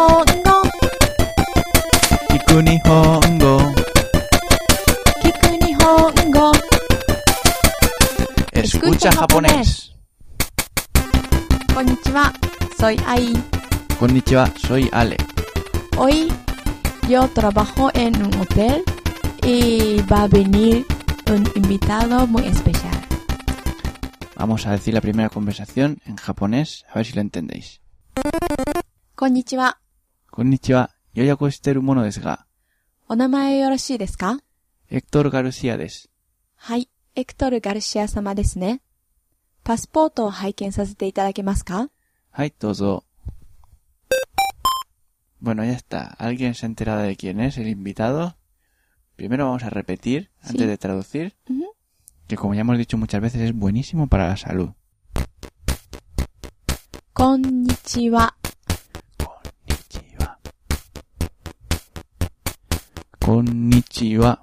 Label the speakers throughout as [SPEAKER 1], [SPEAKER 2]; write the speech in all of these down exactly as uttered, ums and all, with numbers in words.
[SPEAKER 1] Nihongo.
[SPEAKER 2] Kiku Nihongo.
[SPEAKER 1] Kiku Nihongo.
[SPEAKER 2] Escucha japonés.
[SPEAKER 1] Konnichiwa, soy Ai.
[SPEAKER 2] Konnichiwa, soy Ale.
[SPEAKER 1] Hoy yo trabajo en un hotel y va a venir un invitado muy especial.
[SPEAKER 2] Vamos a decir la primera conversación en japonés, a ver si lo entendéis.
[SPEAKER 1] Konnichiwa.
[SPEAKER 2] Konnichiwa, yoyaku shiteru mono desu ga.
[SPEAKER 1] お名前よろしいですか？
[SPEAKER 2] Héctor García desu.
[SPEAKER 1] はい、エクトル・ガルシア様ですね。パスポートを拝見させていただけますか？
[SPEAKER 2] Hai, dozo. Bueno, ya está. ¿Alguien se ha enterado de quién es el invitado? Primero vamos a repetir,
[SPEAKER 1] Sí.
[SPEAKER 2] antes de traducir,
[SPEAKER 1] Uh-huh.
[SPEAKER 2] que como ya hemos dicho muchas veces es buenísimo para la salud.
[SPEAKER 1] こんにちは。
[SPEAKER 2] Konnichiwa. Konnichiwa.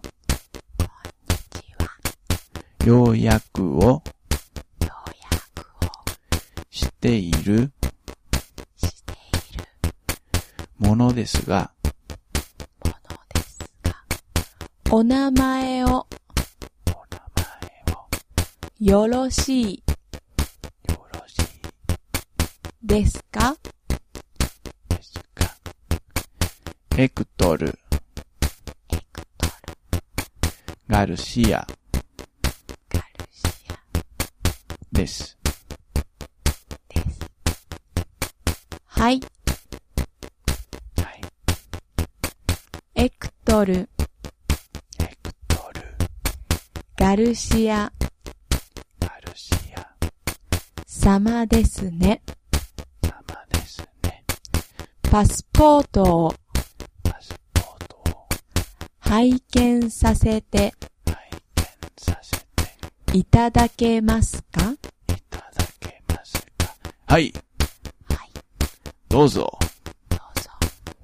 [SPEAKER 2] Yoyaku o
[SPEAKER 1] ようやくを
[SPEAKER 2] shite iru
[SPEAKER 1] している
[SPEAKER 2] mono desu ga.
[SPEAKER 1] ものですが、お名前を
[SPEAKER 2] Onamae o
[SPEAKER 1] よろしい
[SPEAKER 2] yoroshii
[SPEAKER 1] ですか？
[SPEAKER 2] desu ka. Héctor
[SPEAKER 1] エクトル・
[SPEAKER 2] García
[SPEAKER 1] ガルシア
[SPEAKER 2] desu.
[SPEAKER 1] です。はい、
[SPEAKER 2] はい。
[SPEAKER 1] エクトル・
[SPEAKER 2] Héctor
[SPEAKER 1] ガルシア
[SPEAKER 2] García
[SPEAKER 1] 様ですね。
[SPEAKER 2] sama desu ne.
[SPEAKER 1] パスポートを
[SPEAKER 2] Pasaporto o
[SPEAKER 1] 拝見させて
[SPEAKER 2] haiken sasete
[SPEAKER 1] いただけますか？
[SPEAKER 2] itadakemasu ka. Hai,
[SPEAKER 1] はい、
[SPEAKER 2] dozo.
[SPEAKER 1] どうぞ。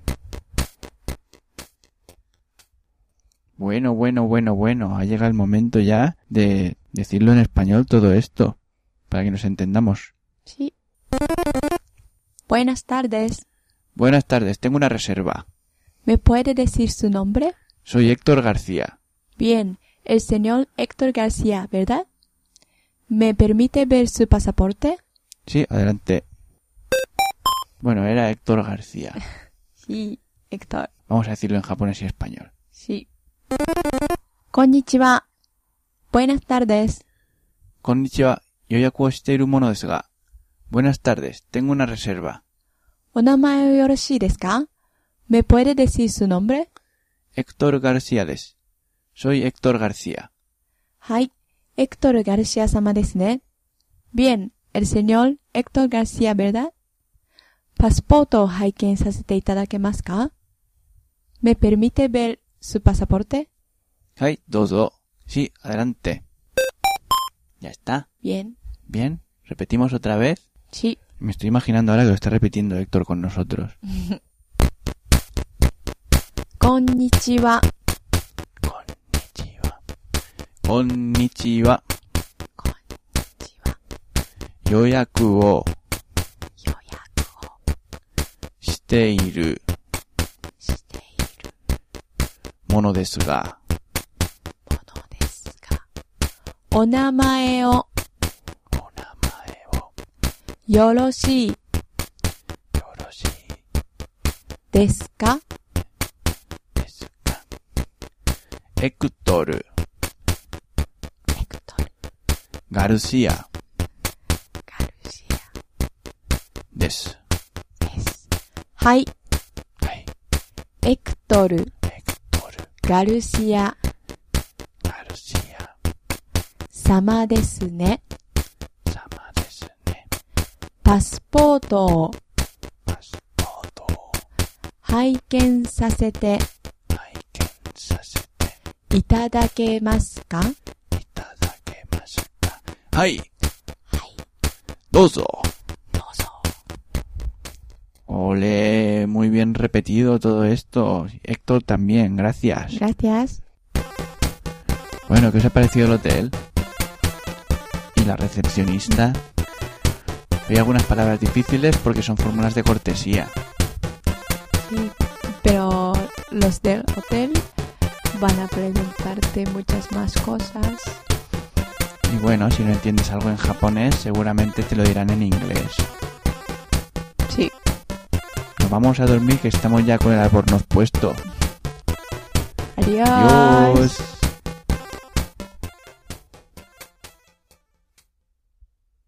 [SPEAKER 2] Bueno, bueno, bueno, bueno. Ha llegado el momento ya de decirlo en español todo esto, para que nos entendamos.
[SPEAKER 1] Sí. Buenas tardes.
[SPEAKER 2] Buenas tardes, tengo una reserva.
[SPEAKER 1] ¿Me puede decir su nombre?
[SPEAKER 2] Soy Héctor García.
[SPEAKER 1] Bien, el señor Héctor García, ¿verdad? ¿Me permite ver su pasaporte?
[SPEAKER 2] Sí, adelante. Bueno, era Héctor García.
[SPEAKER 1] Sí, Héctor.
[SPEAKER 2] Vamos a decirlo en japonés y español.
[SPEAKER 1] Sí. Konnichiwa. Buenas tardes.
[SPEAKER 2] Konnichiwa, yoyaku o shiteiru mono desu ga. Buenas tardes, tengo una reserva.
[SPEAKER 1] お名前よろしいですか？ ¿Me puede decir su nombre?
[SPEAKER 2] Héctor García desu. Soy Héctor García.
[SPEAKER 1] はい、エクトル・ガルシア様ですね。Bien, el señor Héctor García, ¿verdad? パスポートを拝見させていただけますか？ ¿Me permite ver su pasaporte?
[SPEAKER 2] Hai, dozo. Sí, adelante. Ya está.
[SPEAKER 1] Bien.
[SPEAKER 2] Bien, repetimos otra vez.
[SPEAKER 1] Sí.
[SPEAKER 2] Me estoy imaginando ahora que lo está repitiendo Héctor con nosotros.
[SPEAKER 1] こんにちは。
[SPEAKER 2] Konnichiwa. Konnichiwa.
[SPEAKER 1] こんにちは。
[SPEAKER 2] Yoyaku o
[SPEAKER 1] 予約を
[SPEAKER 2] shiteiru
[SPEAKER 1] している
[SPEAKER 2] mono desu ga.
[SPEAKER 1] ものですが、お名前を
[SPEAKER 2] Onamae o
[SPEAKER 1] よろしい
[SPEAKER 2] yoroshii
[SPEAKER 1] ですか？
[SPEAKER 2] desu ka. Héctor
[SPEAKER 1] エクトル・
[SPEAKER 2] García
[SPEAKER 1] ガルシア
[SPEAKER 2] desu.
[SPEAKER 1] です。はい、
[SPEAKER 2] はい。
[SPEAKER 1] エクトル・
[SPEAKER 2] Héctor
[SPEAKER 1] ガルシア
[SPEAKER 2] García
[SPEAKER 1] 様ですね。
[SPEAKER 2] sama desu ne.
[SPEAKER 1] パスポートを
[SPEAKER 2] Pasaporto o
[SPEAKER 1] 拝見させて
[SPEAKER 2] haiken sasete
[SPEAKER 1] いただけますか？
[SPEAKER 2] itadakemasu ka. Hai,
[SPEAKER 1] はい、
[SPEAKER 2] dozo.
[SPEAKER 1] どうぞ。
[SPEAKER 2] Ole, muy bien repetido todo esto. Héctor también, gracias.
[SPEAKER 1] Gracias.
[SPEAKER 2] Bueno, ¿qué os ha parecido el hotel? ¿Y la recepcionista? Hay algunas palabras difíciles porque son fórmulas de cortesía.
[SPEAKER 1] Sí, pero los del hotel van a preguntarte muchas más cosas.
[SPEAKER 2] Y bueno, si no entiendes algo en japonés, seguramente te lo dirán en inglés.
[SPEAKER 1] Sí.
[SPEAKER 2] Nos vamos a dormir que estamos ya con el albornoz puesto.
[SPEAKER 1] Adiós.
[SPEAKER 2] Adiós.